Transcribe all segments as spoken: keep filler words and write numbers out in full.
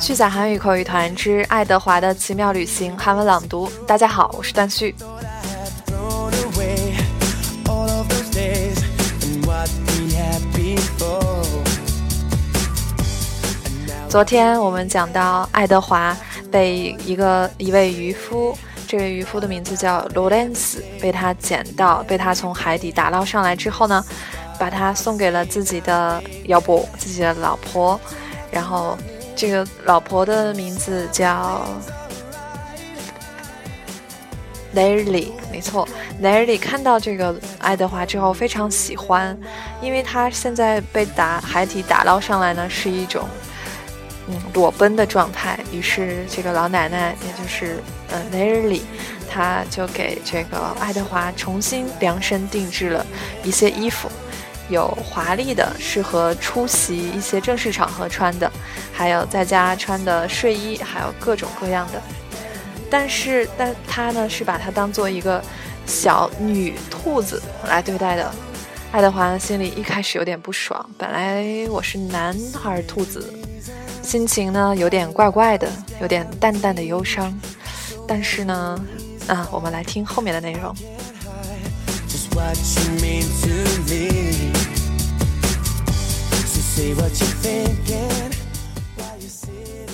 虚假韩语口语团之爱德华的奇妙旅行韩文朗读。大家好，我是段旭。昨天我们讲到爱德华被一个一位渔夫，这位渔夫的名字叫罗伦斯，被他捡到，被他从海底打捞上来之后呢，把他送给了自己的要不自己的老婆，然后这个老婆的名字叫 Nelly， 没错 Nelly 看到这个爱德华之后非常喜欢，因为他现在被打海底打捞上来呢是一种嗯裸奔的状态，于是这个老奶奶也就是呃 Nelly 她就给这个爱德华重新量身定制了一些衣服，有华丽的适合出席一些正式场合穿的，还有在家穿的睡衣，还有各种各样的。但是但他呢是把它当做一个小女兔子来对待的。爱德华心里一开始有点不爽，本来我是男孩兔子，心情呢有点怪怪的，有点淡淡的忧伤。但是呢啊，我们来听后面的内容。What you mean to me, so say what you're thinking while you sit.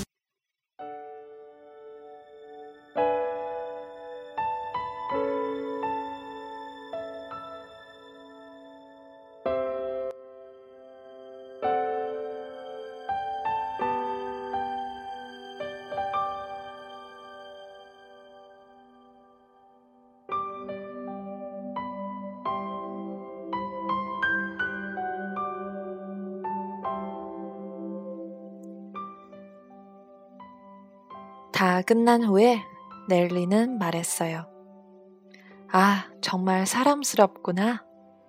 다 끝난 후에 넬리는 말했어요. 아, 정말 사람스럽구나.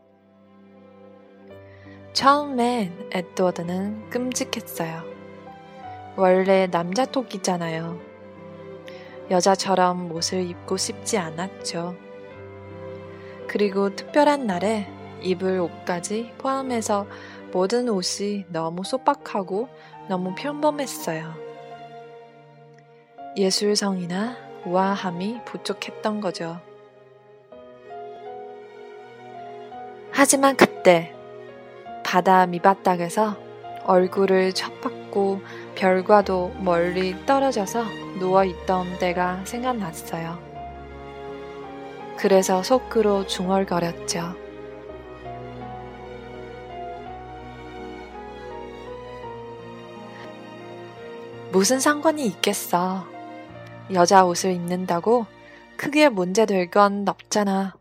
처음엔 에드워드는 끔찍했어요. 원래 남자 토끼잖아요. 여자처럼 옷을 입고 싶지 않았죠. 그리고 특별한 날에 입을 옷까지 포함해서 모든 옷이 너무 소박하고 너무 평범했어요. 예술성이나 우아함이 부족했던 거죠. 하지만 그때 바다 밑바닥에서 얼굴을 쳐박고 별과도 멀리 떨어져서 누워있던 때가 생각났어요. 그래서 속으로 중얼거렸죠. 무슨 상관이 있겠어. 여자 옷을 입는다고 크게 문제될 건 없잖아.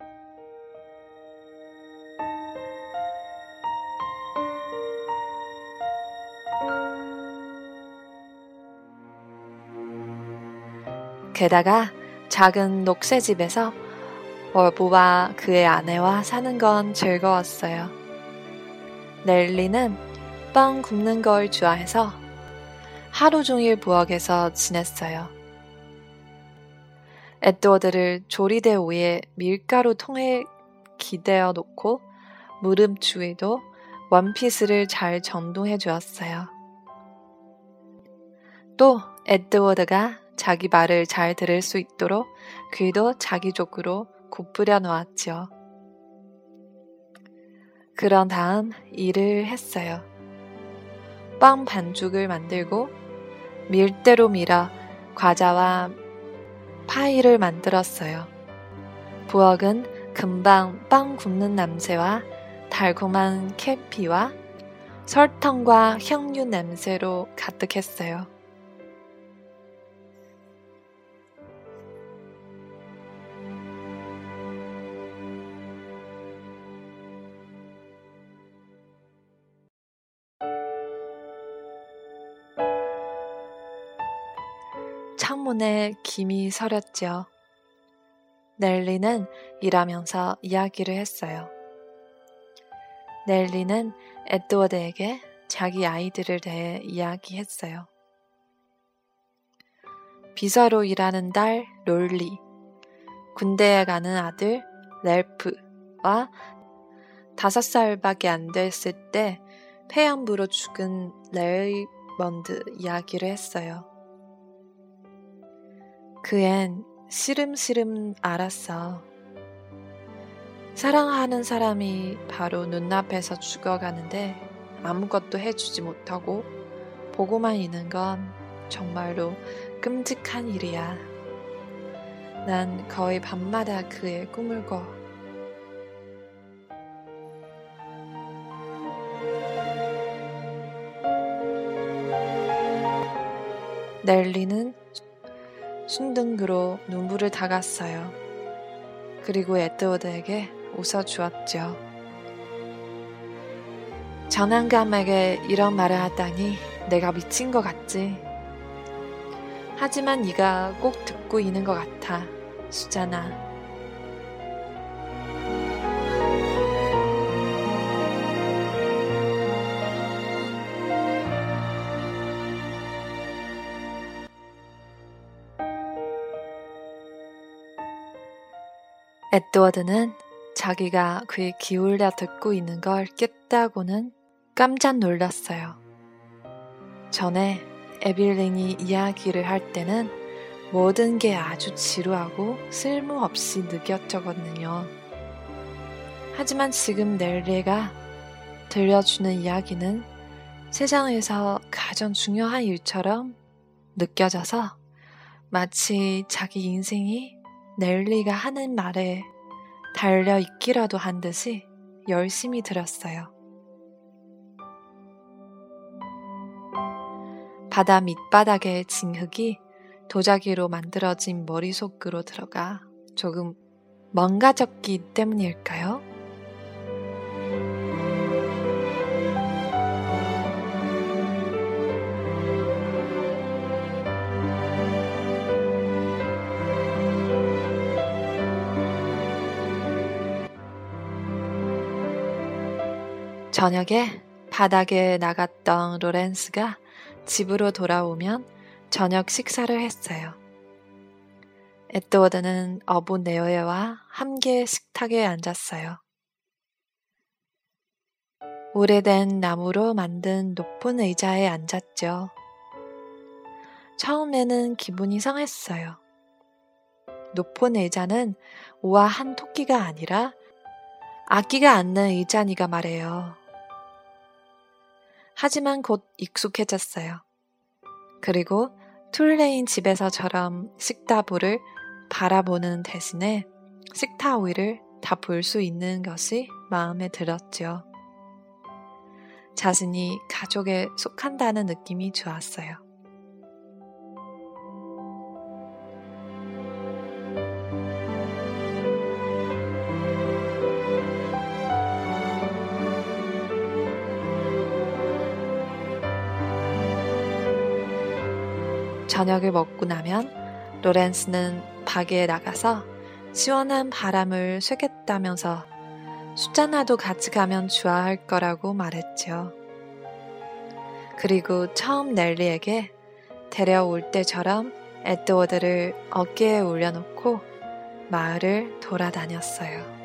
게다가 작은 녹색집에서 어부와 그의 아내와 사는 건 즐거웠어요. 넬리는 빵 굽는 걸 좋아해서 하루 종일 부엌에서 지냈어요. 에드워드를 조리대 위에 밀가루 통에 기대어 놓고 무릎 주위도 원피스를 잘 전동해 주었어요. 또 에드워드가 자기 말을 잘 들을 수 있도록 귀도 자기 쪽으로 굽부려 놓았죠. 그런 다음 일을 했어요. 빵 반죽을 만들고 밀대로 밀어 과자와 파이를 만들었어요. 부엌은 금방 빵 굽는 냄새와 달콤한 계피와 설탕과 향유 냄새로 가득했어요. 창문에 김이 서렸죠. 넬리는 일하면서 이야기를 했어요. 넬리는 에드워드에게 자기 아이들을 대해 이야기했어요. 비서로 일하는 딸 롤리, 군대에 가는 아들 렐프와 다섯 살밖에 안 됐을 때 폐암부로 죽은 레이먼드 이야기를 했어요. 그앤 시름시름 알았어. 사랑하는 사람이 바로 눈앞에서 죽어가는데 아무것도 해주지 못하고 보고만 있는 건 정말로 끔찍한 일이야. 난 거의 밤마다 그의 꿈을 꿔. 넬리는 순둥으로 눈물을 닦았어요. 그리고 에드워드에게 웃어주었죠. 전환감에게 이런 말을 하다니 내가 미친 것 같지. 하지만 네가 꼭 듣고 있는 것 같아, 수잔아. 에드워드는 자기가 귀 기울여 듣고 있는 걸 깼다고는 깜짝 놀랐어요. 전에 에빌린이 이야기를 할 때는 모든 게 아주 지루하고 쓸모없이 느껴졌거든요. 하지만 지금 넬리가 들려주는 이야기는 세상에서 가장 중요한 일처럼 느껴져서 마치 자기 인생이 넬리가 하는 말에 달려있기라도 한 듯이 열심히 들었어요. 바다 밑바닥의 진흙이 도자기로 만들어진 머릿속으로 들어가 조금 멍가졌기 때문일까요? 저녁에 바닥에 나갔던 로렌스가 집으로 돌아오면 저녁 식사를 했어요. 에드워드는 어부 네오에와 함께 식탁에 앉았어요. 오래된 나무로 만든 높은 의자에 앉았죠. 처음에는 기분이 상했어요. 높은 의자는 우아한 토끼가 아니라 아기가 앉는 의자니가 말해요. 하지만 곧 익숙해졌어요. 그리고 툴레인 집에서처럼 식탁불을 바라보는 대신에 식탁 위를 다 볼 수 있는 것이 마음에 들었죠. 자신이 가족에 속한다는 느낌이 좋았어요. 저녁을 먹고 나면 로렌스는 밖에 나가서 시원한 바람을 쐬겠다면서 수잔나도 같이 가면 좋아할 거라고 말했죠. 그리고 처음 넬리에게 데려올 때처럼 에드워드를 어깨에 올려놓고 마을을 돌아다녔어요.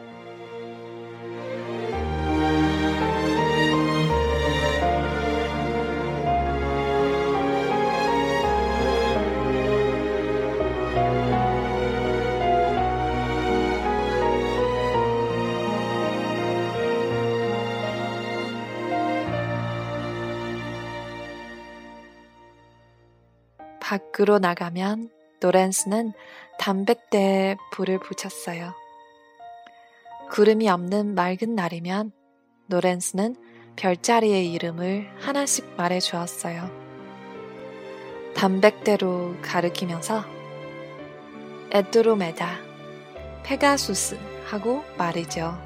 밖으로 나가면 로렌스는 담뱃대에 불을 붙였어요. 구름이 없는 맑은 날이면 로렌스는 별자리의 이름을 하나씩 말해주었어요. 담뱃대로 가리키면서 에드로메다, 페가수스 하고 말이죠.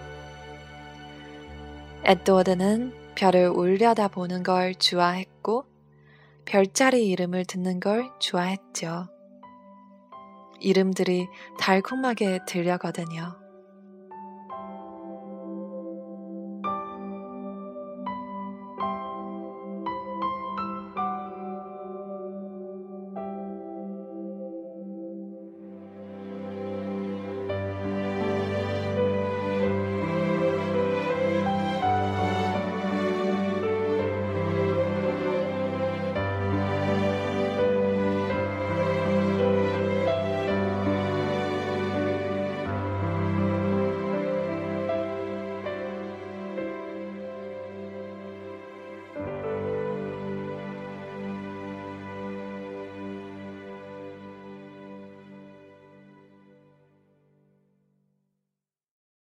에드워드는 별을 올려다보는 걸 좋아했고 별자리 이름을 듣는 걸 좋아했죠. 이름들이 달콤하게 들려거든요.